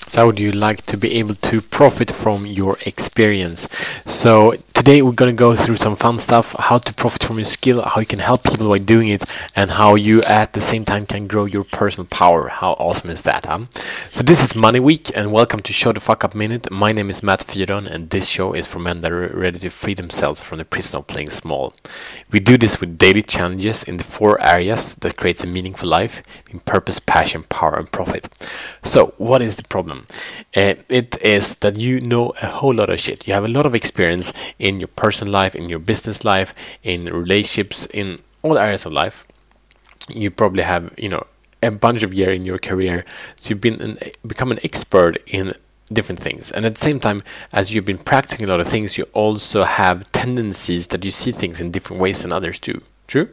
So how would you like to be able to profit from your experience? So today we're going to go through some fun stuff, how to profit from your skill, how you can help people by doing it, and how you at the same time can grow your personal power. How awesome is that, huh? So this is Money Week, and welcome to Show the Fuck Up Minute. My name is Matt Fyron, and this show is for men that are ready to free themselves from the prison of playing small. We do this with daily challenges in the 4 areas that creates a meaningful life in purpose, passion, power, and profit. So what is the problem? It is that you know a whole lot of shit. You have a lot of experience in your personal life, in your business life, in relationships, in all areas of life. You probably have, a bunch of years in your career, so you've become an expert in different things. And at the same time, as you've been practicing a lot of things, you also have tendencies that you see things in different ways than others do. True?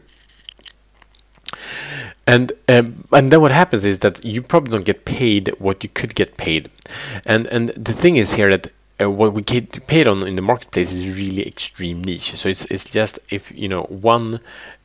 And then what happens is that you probably don't get paid what you could get paid. And the thing is here that what we get paid on in the marketplace is really extreme niche. So it's just if one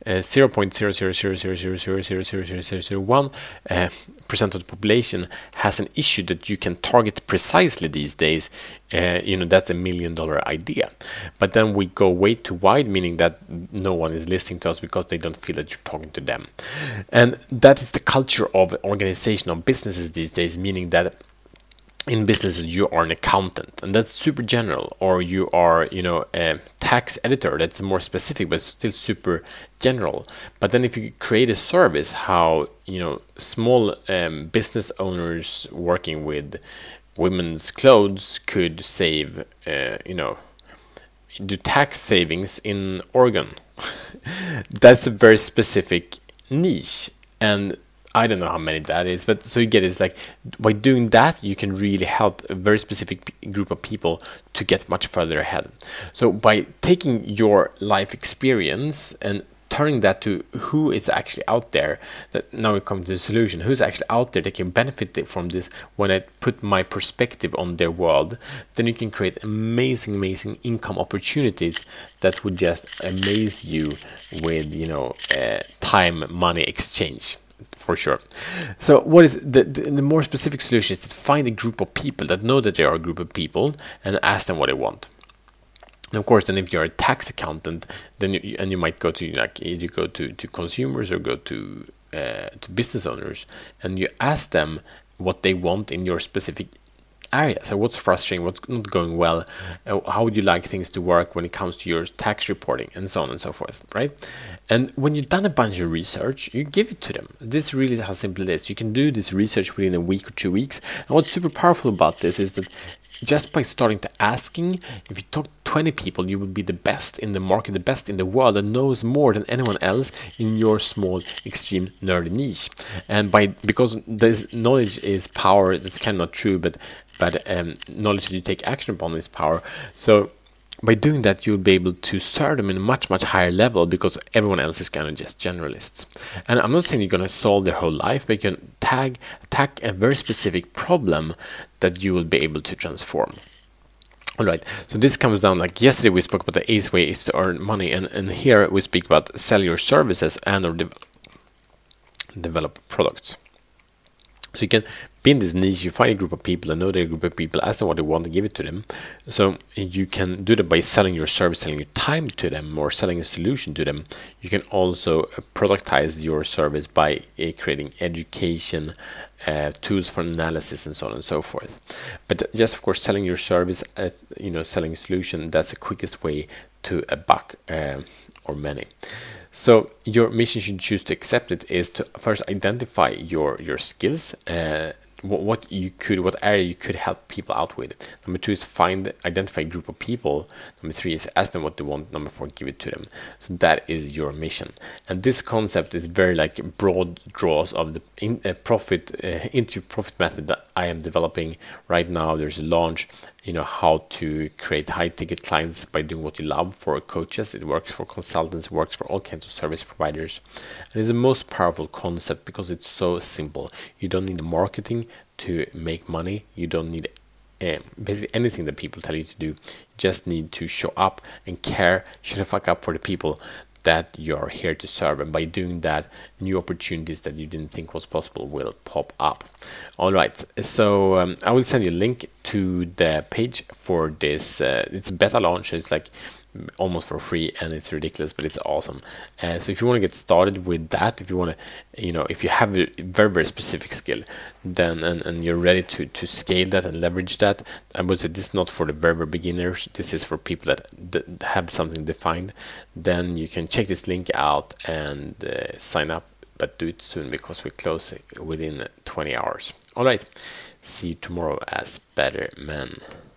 0.00000000001% of the population has an issue that you can target precisely these days, that's $1 million idea. But then we go way too wide, meaning that no one is listening to us because they don't feel that you're talking to them. And that is the culture of organizational businesses these days, meaning that in businesses you are an accountant, and that's super general, or you are a tax editor, that's more specific but still super general. But then if you create a service, how small business owners working with women's clothes could save do tax savings in Oregon. That's a very specific niche, and I don't know how many that is, but so you get it's like by doing that you can really help a very specific group of people to get much further ahead. So by taking your life experience and turning that to who is actually out there, that now we come to the solution, who's actually out there that can benefit from this when I put my perspective on their world, then you can create amazing income opportunities that would just amaze you with time money exchange. For sure. So what is the more specific solution is to find a group of people that know that they are a group of people and ask them what they want. And of course, then if you're a tax accountant, then you might go to you go to consumers or go to business owners, and you ask them what they want in your specific area. So what's frustrating, what's not going well, how would you like things to work when it comes to your tax reporting, and so on and so forth, right? And when you've done a bunch of research, you give it to them. This really is how simple it is. You can do this research within a week or 2 weeks. And what's super powerful about this is that just by starting to asking, if you talk to 20 people, you will be the best in the market, the best in the world, that knows more than anyone else in your small, extreme, nerdy niche. And because this knowledge is power, that's kind of not true, but knowledge that you take action upon is power. So by doing that, you'll be able to serve them in a much higher level, because everyone else is kind of just generalists. And I'm not saying you're going to solve their whole life, but you can attack a very specific problem that you will be able to transform. All right, so this comes down, like yesterday we spoke about the 8 ways to earn money, and here we speak about sell your services and or develop products. So you can be in this niche, you find a group of people, and know they're a group of people, ask them what they want, and give it to them. So you can do that by selling your service, selling your time to them, or selling a solution to them. You can also productize your service by creating education, tools for analysis, and so on and so forth. But just of course selling your service, selling a solution, that's the quickest way to a buck or many. So your mission, should choose to accept it, is to first identify your skills, what area you could help people out with. Number 2 is identify a group of people. Number 3 is ask them what they want. Number 4, give it to them. So that is your mission. And this concept is very broad draws of the into profit method that I am developing right now. There's a launch, how to create high ticket clients by doing what you love for coaches. It works for consultants, it works for all kinds of service providers. And it's the most powerful concept because it's so simple. You don't need marketing to make money. You don't need basically anything that people tell you to do. You just need to show up and care, shut the fuck up for the people that you're here to serve, and by doing that, new opportunities that you didn't think was possible will pop up. All right, so I will send you a link to the page for this. It's a beta launch. It's like almost for free, and it's ridiculous, but it's awesome. So if you want to get started with that, if you want to, if you have a very specific skill, then and you're ready to scale that and leverage that, I would say this is not for the very beginners. This is for people that have something defined. Then you can check this link out and sign up, but do it soon because we close within 20 hours. All right, see you tomorrow as better men.